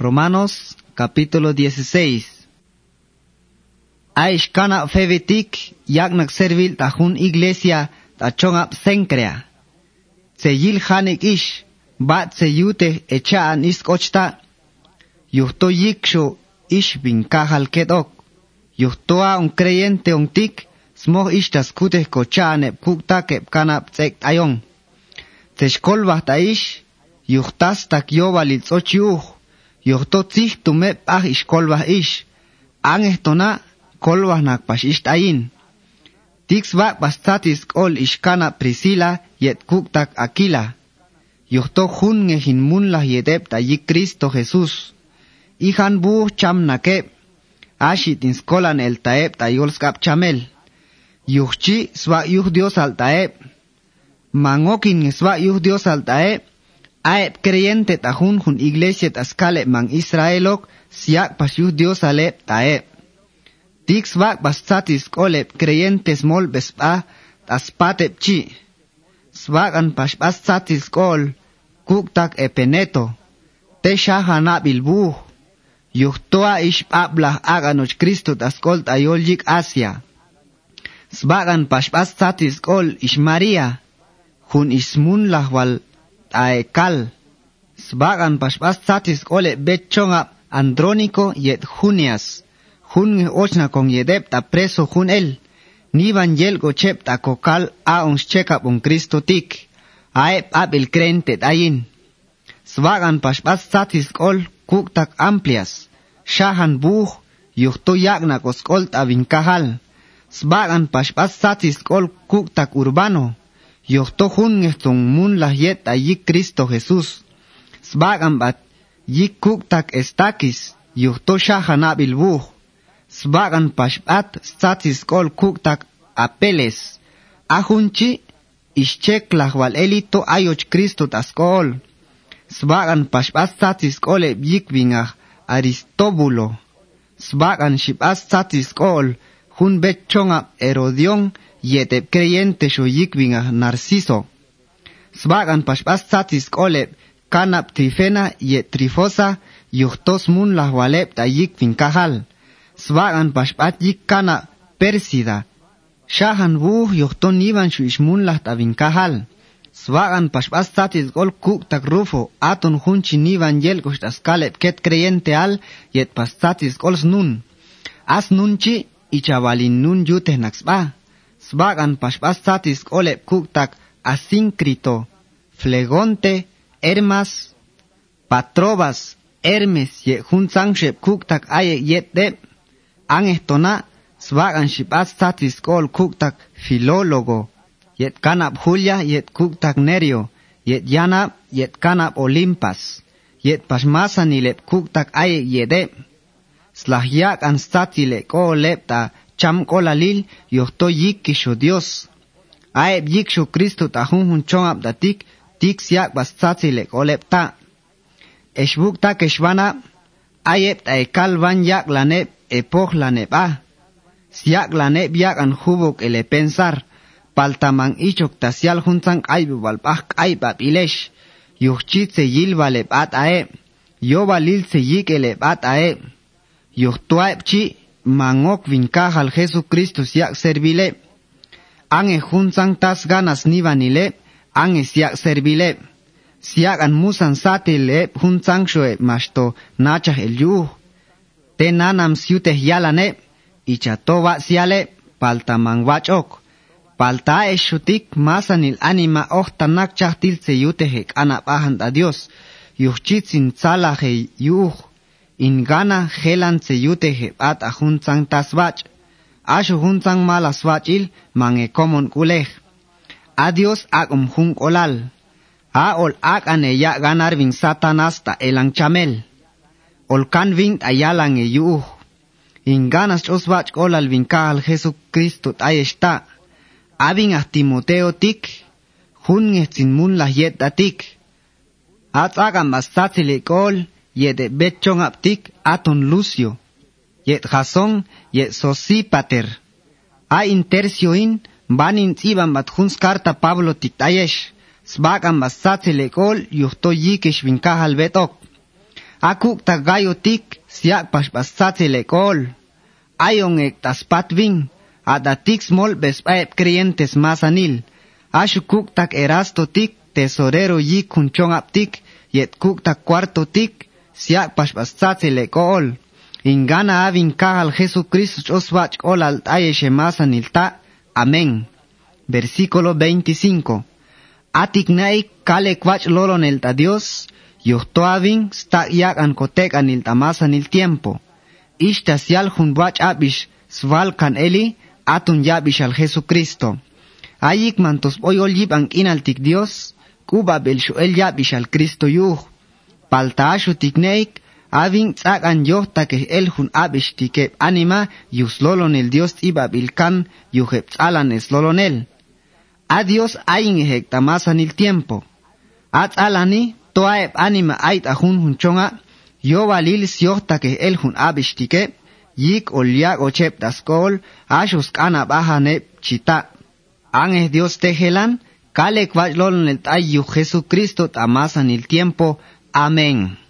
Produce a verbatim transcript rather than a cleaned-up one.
Romanos capítulo dieciséis. Aishkana fevitik yaknak servil tajun iglesia tachongap sencrea. Seyil hanik ish bat seyute echaan iskochta. Yuhto yiksho ish vinkahal kedok. Yuhtoa un creyente un tik smog ishtas kuteh kochane kukta kep kanap tsek ayong. Teshkolbah ta ish yuhtas tak yobalil tsochiuh. Yuhto tzih tumep ah ishkolbah ish. Angeh tona kolbah nakpash isht ayin. Tixbak bastatis kol ishkana Priscila yet kuktak Aquila. Yuhto junge hinmunlah yedep ta yik Cristo Jesús. Ihan buh cham nakep. Ashit inskolan el taep ta yolskap chamel. Yuhchi swa yuh Dios al taep. Mangokin swa yuh Dios al taep. Aep creyente ta hun hun iglesia taskale mang Israelok siak pas yuh Dios alep taep. Tixbak bastatis kolep creyentes mol bespa taspatep chi. Swagan pas bastatis kol kuktak epeneto. Te shahana bilbuh. Yuhtoa ish ablah aganoch Cristo taskol tayoljik Asia. Swagan pas bastatis kol ish Maria. Hun ismun lahwal taekal. Swagan pas bastatis kole betchonga Andrónico yet Junias. Hun ochna con yedep ta preso hun el. Nivan yel gochep ta kokal a uns chekap un Cristo tik. Aep abil crente tayin. Swagan paspas satis kol kuktak amplias. Shahan buh yuhto yakna koskol ta vinkahal. Swagan paspas satis kol kuktak urbano. Yuhto hun ngestung mun lah yet ta yik Cristo Jesús. Swagan bat yik kuktak estakis. Yuhto shahan abil buh. Swagan paspat statis kol kuktak apeles. Ahunchi ischek lahwal elito ayoch Cristo taskol. Swagan paspat statis kole bikvingah Aristóbulo. Swagan shipat statis kol hun betchonga Herodion yetep creyente sho yikvingah Narciso. Swagan paspat statis kole kanap Trifena yet Trifosa yuhtos mun lahwalep ta yikving kahal. Swagan paspat yik kana Persida. Shahan buh yuhton nivan shu ishmun lah tabin kahal. Swagan paspat satis gol kuk tak Rufo. Aton hunchi nivan yel kushtas kalep ket creyente al yet pastatis gols nun. As nunchi ichavalin nun yuteh naksba. Swagan paspat satis golep kuk tak Asíncrito, Flegonte, Hermas, Patrobas, Hermes ye hun sangshep kuk tak aye yet dep. Angestona swagan shipat statis kol kuktak Filólogo, yet kanap Julia yet kuktak Nerio, yet yanap yet kanap Olimpas, yet pasmasa nilep kuktak aye yedep. Slahyak an statile ko lepta cham kolalil yohto yikisho Dios. Aeb yiksho Cristo ta hun hun chongap datik tik siak bastatile ko lepta. Eshbukta keshwana ayep ta ekal van yak lanep epoch lanep a. Siak lanep yak an hubok ele pensar. Paltamang ichok tasial juntang aybu balpak aybab ilesh. Yuchit se yil valep at ae. Yo valil se yik ele at ae. Yuchtuaep chi mangok vinkahal Jesucristo siak servile. Ange juntang tas ganas nivanile. Ange siak servile. Siak an musan satile juntang shoe masto nachah el yuh. Te nanam siuteh yalane, ichatoba siale, paltamang wachok. Palta eshutik masanil anima ochtanak chahtil se yutehek anapahan a Dios. Yuchitsin tzalaje yuh. Ingana gelan se yutehe at a junzang taswach. Ashu junzang malaswachil mange komon kulej. Adios akum jun olal. A ol ak ane ya ganar vin satanasta elang chamel. Olkan vint ayalang e yuh. Inganas oswach olal vinkahal Jesucristo ayesta. Abing ah Timoteo tik. Hun ngetzin mun lah yet datik. At agam bastatzile kol. Yet betchong aptik aton Lucio. Yet Jason yet Sosipater. A intercioin banin tsiban bat huns karta Pablo tik tayesh. Sbagam bastatzile kol yuhto yikish vinkahal betok. Akuk tagayo tik siak paspatsatse lekol. Ayon ek taspatvin. Adatik smol bespaep creyentes masanil. Ashukuk tak erasto tik tesorero yik kunchong aptik. Yet kuk tak cuarto tik siak paspatsatse lekol. Ingana avin kahal Jesucristo oswach ol alt ayeshe masanil ta. Amén. Versículo veinticinco. Atik naik kale kwach lolon el ta Dios. Yuhtoavin sta yak an kotek anil tamasan il tiempo. Ishta sial jun wach abish sval kan eli atun yabish al Jesucristo. Ayik mantos oyol yib ang inaltik Dios. Kuba belshu el yabish al Cristo yuh. Palta ashu tikneik avin tzak an yohta ke el jun abish tikep anima yus lolon el Dios iba bilkan yuhep tzalan es lolon el. A Dios ayin ehek tamasan il tiempo. At alani toaep anima ait ahun hunchonga, yo valil siota que el hun abishtike, yik olyak ochep daskol, ashus kana bahane chita. Ange Dios tejelan, kale kwajlon el tayu Jesucristo tamasan el tiempo. Amén.